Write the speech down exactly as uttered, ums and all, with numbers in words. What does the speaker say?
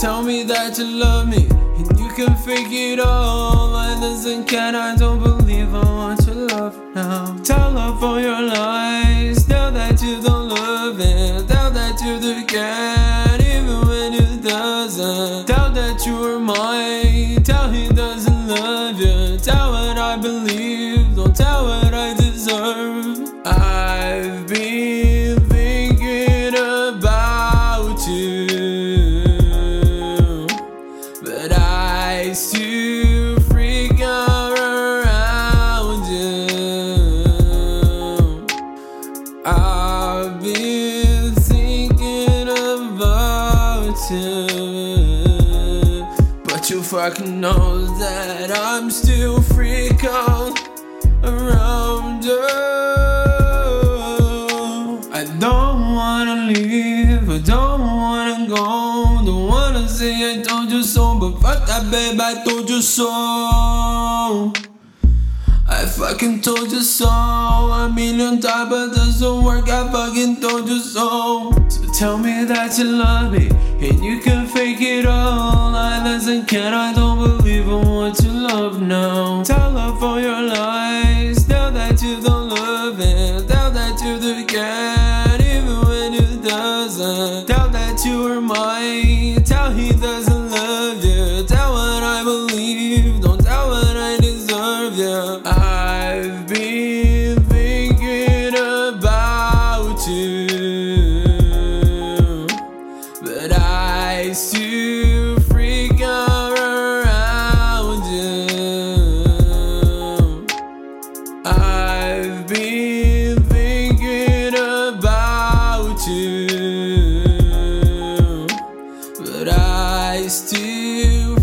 tell me that you love me, and you can fake it all. I listen, can I don't believe I want your love now. Tell up all your lies, tell that you don't love it, tell that you do care, even when you doesn't. Tell that you are mine, tell he doesn't love you. Tell what I believe, don't tell what I deserve. I've been thinking about you, but I still freak out around you. I've been thinking about you, but you fucking know that I'm still freak out around you. I don't wanna leave, I don't wanna go, don't wanna say I told you so, but fuck that babe, I told you so. I fucking told you so a million times, but it doesn't work, I fucking told you so. So tell me that you love me, and you can fake it all. I listen, can I don't believe I want your love now. Tell up all your lies, tell that you don't love it, tell that you do care, even when you doesn't. Tell that you are mine, tell he doesn't love you. Tell what I believe, don't tell what I deserve, yeah. I've been thinking about you, but I still freak out around you. I've been thinking about you, but I still